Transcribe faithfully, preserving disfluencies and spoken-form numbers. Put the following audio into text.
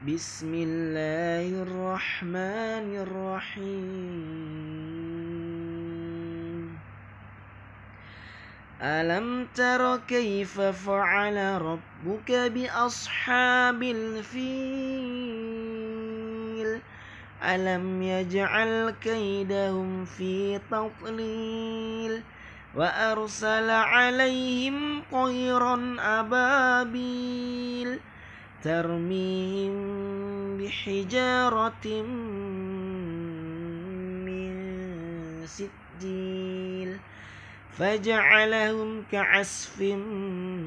بسم الله الرحمن الرحيم ألم تر كيف فعل ربك بأصحاب الفيل ألم يجعل كيدهم في تضليل وأرسل عليهم طيرا أبابيل ترميهم بحجارة من سجيل فجعلهم كعصف